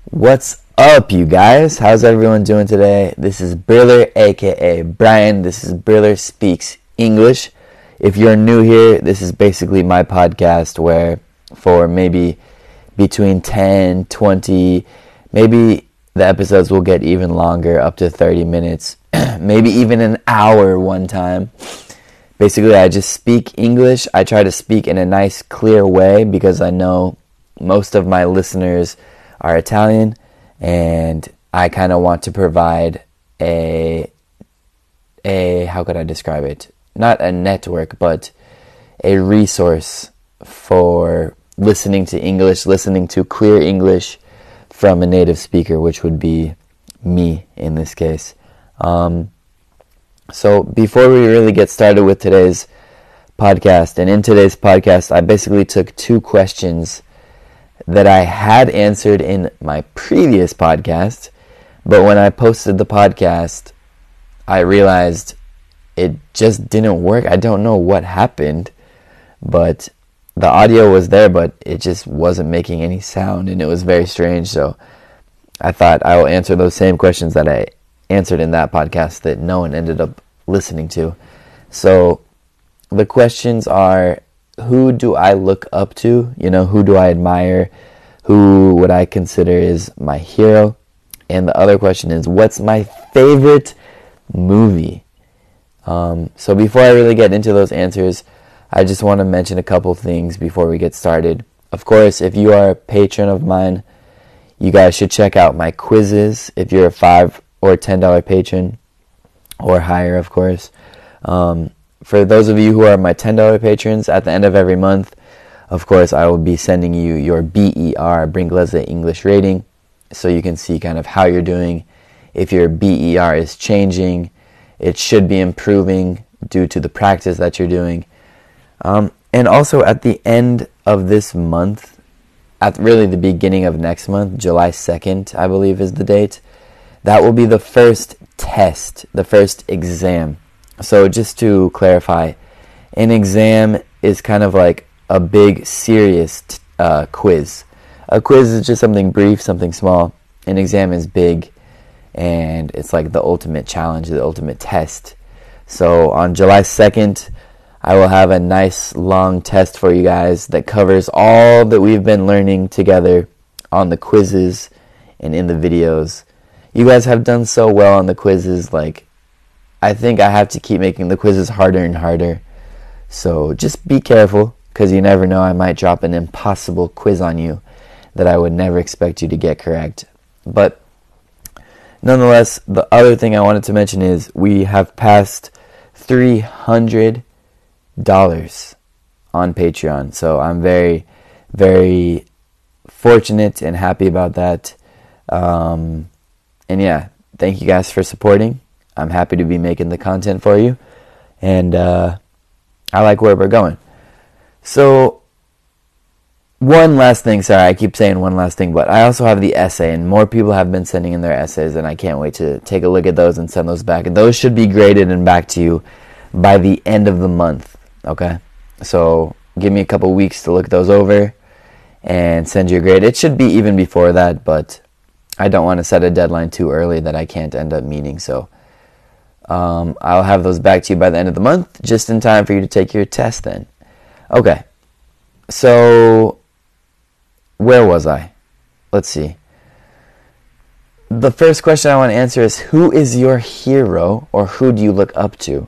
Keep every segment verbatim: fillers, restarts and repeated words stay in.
What's up, you guys? How's everyone doing today? This is Briller, aka Brian. This is Briller Speaks English. If you're new here, this is basically my podcast where for maybe between ten, twenty, maybe the episodes will get even longer, up to thirty minutes, maybe even an hour one time. Basically, I just speak English. I try to speak in a nice, clear way because I know most of my listeners are Italian, and I kind of want to provide a, a, how could I describe it? Not a network, but a resource for listening to English, listening to clear English from a native speaker, which would be me in this case. Um, so before we really get started with today's podcast, and in today's podcast, I basically took two questions that I had answered in my previous podcast, but when I posted the podcast, I realized it just didn't work. I don't know what happened, but the audio was there, but it just wasn't making any sound, and it was very strange. So I thought I will answer those same questions that I answered in that podcast that no one ended up listening to. So the questions are, who do I look up to? You know, who do I admire? Who would I consider is my hero? And the other question is, what's my favorite movie? Um, so before I really get into those answers, I just want to mention a couple things before we get started. Of course, if you are a patron of mine, you guys should check out my quizzes. If you're a five or ten dollar patron, or higher, of course. Um, For those of you who are my ten dollar patrons, at the end of every month, of course, I will be sending you your B E R, Bringlese English rating, so you can see kind of how you're doing. If your B E R is changing, it should be improving due to the practice that you're doing. Um, and also at the end of this month, at really the beginning of next month, July second, I believe is the date, that will be the first test, the first exam. So just to clarify, an exam is kind of like a big, serious uh, quiz. A quiz is just something brief, something small. An exam is big, and it's like the ultimate challenge, the ultimate test. So on July second, I will have a nice long test for you guys that covers all that we've been learning together on the quizzes and in the videos. You guys have done so well on the quizzes, like, I think I have to keep making the quizzes harder and harder. So just be careful, because you never know, I might drop an impossible quiz on you that I would never expect you to get correct. But nonetheless, the other thing I wanted to mention is we have passed three hundred dollars on Patreon. So I'm very, very fortunate and happy about that. Um, and yeah, thank you guys for supporting. I'm happy to be making the content for you, and uh, I like where we're going. So, one last thing, sorry, I keep saying one last thing, but I also have the essay, and more people have been sending in their essays, and I can't wait to take a look at those and send those back. And those should be graded and back to you by the end of the month, okay? So, give me a couple weeks to look those over and send you a grade. It should be even before that, but I don't want to set a deadline too early that I can't end up meeting, so Um, I'll have those back to you by the end of the month, just in time for you to take your test then. Okay, so where was I? Let's see. The first question I want to answer is, who is your hero, or who do you look up to?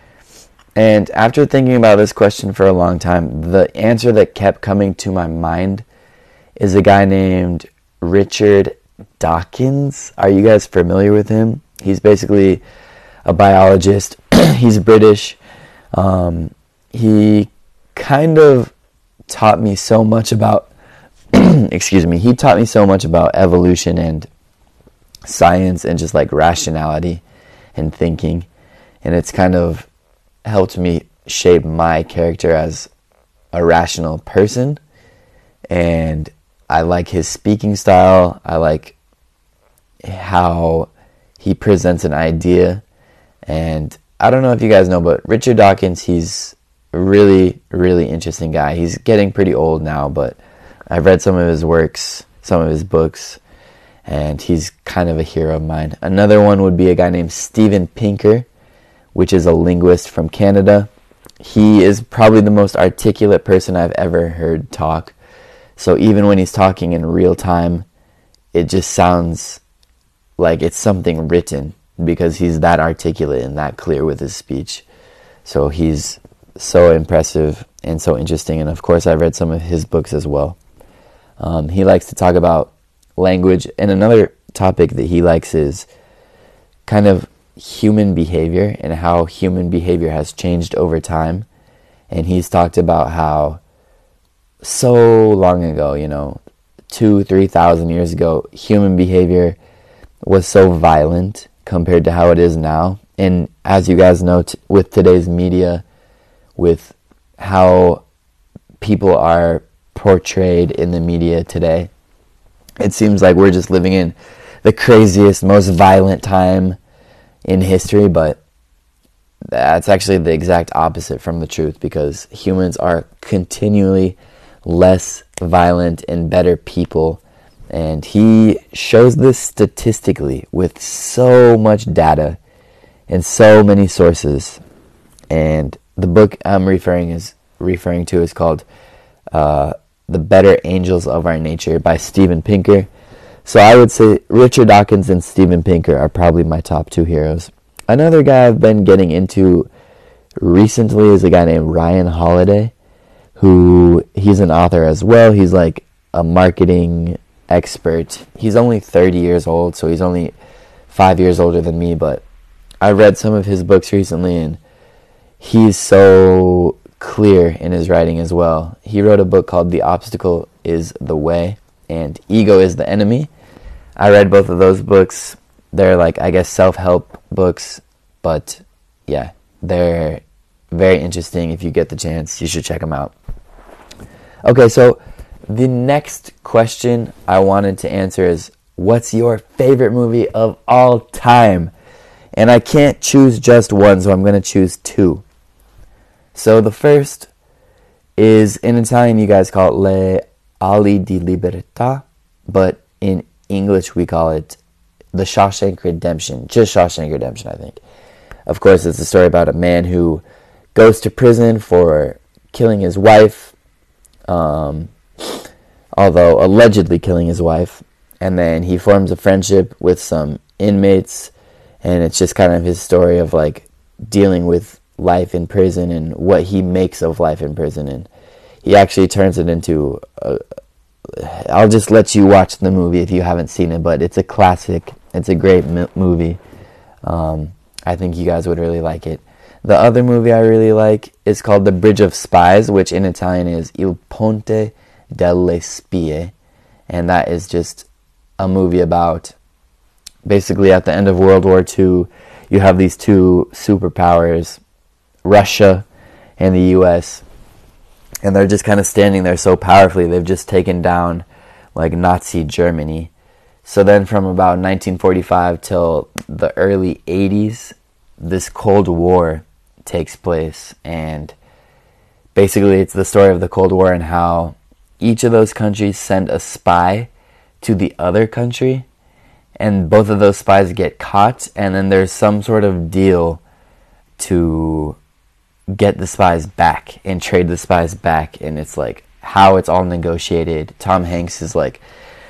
And after thinking about this question for a long time, the answer that kept coming to my mind is a guy named Richard Dawkins. Are you guys familiar with him? He's basically a biologist. He's British. Um, he kind of taught me so much about, excuse me, he taught me so much about evolution and science and just like rationality and thinking. And it's kind of helped me shape my character as a rational person. And I like his speaking style. I like how he presents an idea. And I don't know if you guys know, but Richard Dawkins, he's a really, really interesting guy. He's getting pretty old now, but I've read some of his works, some of his books, and he's kind of a hero of mine. Another one would be a guy named Steven Pinker, which is a linguist from Canada. He is probably the most articulate person I've ever heard talk. So even when he's talking in real time, it just sounds like it's something written, because he's that articulate and that clear with his speech. So he's so impressive and so interesting. And of course, I've read some of his books as well. Um, he likes to talk about language. And another topic that he likes is kind of human behavior and how human behavior has changed over time. And he's talked about how so long ago, you know, two, three thousand years ago, human behavior was so violent compared to how it is now. And as you guys know, t- with today's media, with how people are portrayed in the media today, it seems like we're just living in the craziest, most violent time in history, but that's actually the exact opposite from the truth, because humans are continually less violent and better people. And he shows this statistically with so much data and so many sources. And the book I'm referring is referring to is called uh, The Better Angels of Our Nature by Steven Pinker. So I would say Richard Dawkins and Steven Pinker are probably my top two heroes. Another guy I've been getting into recently is a guy named Ryan Holiday, who he's an author as well. He's like a marketing expert. He's only thirty years old, so he's only five years older than me, but I read some of his books recently, and he's so clear in his writing as well. He wrote a book called The Obstacle is the Way and Ego is the Enemy. I read both of those books. They're like, I guess, self-help books, but yeah, they're very interesting. If you get the chance, you should check them out. Okay, so the next question I wanted to answer is, what's your favorite movie of all time? And I can't choose just one, so I'm going to choose two. So the first is, in Italian you guys call it Le Ali di Libertà, but in English we call it The Shawshank Redemption. Just Shawshank Redemption, I think. Of course, it's a story about a man who goes to prison for killing his wife, um, although allegedly killing his wife, and then he forms a friendship with some inmates, and it's just kind of his story of like dealing with life in prison and what he makes of life in prison. And he actually turns it into a, I'll just let you watch the movie if you haven't seen it, but it's a classic. It's a great m- movie. Um, I think you guys would really like it. The other movie I really like is called The Bridge of Spies, which in Italian is Il Ponte delle Spie, and that is just a movie about, basically at the end of World War Two, you have these two superpowers, Russia and the U S, and they're just kind of standing there so powerfully. They've just taken down like Nazi Germany. So then from about nineteen forty-five till the early eighties, this Cold War takes place, and basically it's the story of the Cold War and how each of those countries send a spy to the other country, and both of those spies get caught, and then there's some sort of deal to get the spies back and trade the spies back, and it's like how it's all negotiated. Tom Hanks is like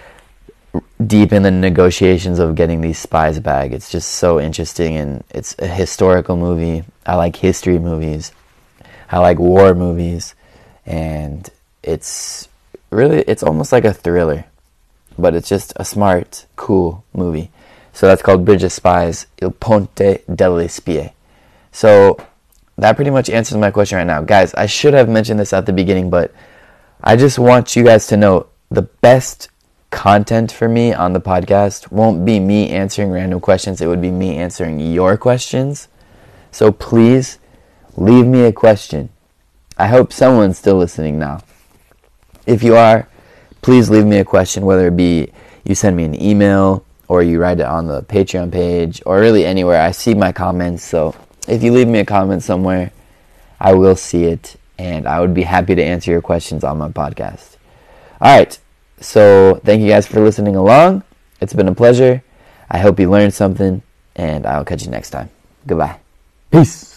deep in the negotiations of getting these spies back. It's just so interesting, and it's a historical movie. I like history movies. I like war movies, and it's really, it's almost like a thriller, but it's just a smart, cool movie. So that's called Bridge of Spies, Il Ponte delle Spie. So that pretty much answers my question right now. Guys, I should have mentioned this at the beginning, but I just want you guys to know the best content for me on the podcast won't be me answering random questions. It would be me answering your questions. So please leave me a question. I hope someone's still listening now. If you are, please leave me a question, whether it be you send me an email or you write it on the Patreon page or really anywhere. I see my comments, so if you leave me a comment somewhere, I will see it, and I would be happy to answer your questions on my podcast. All right, so thank you guys for listening along. It's been a pleasure. I hope you learned something, and I'll catch you next time. Goodbye. Peace.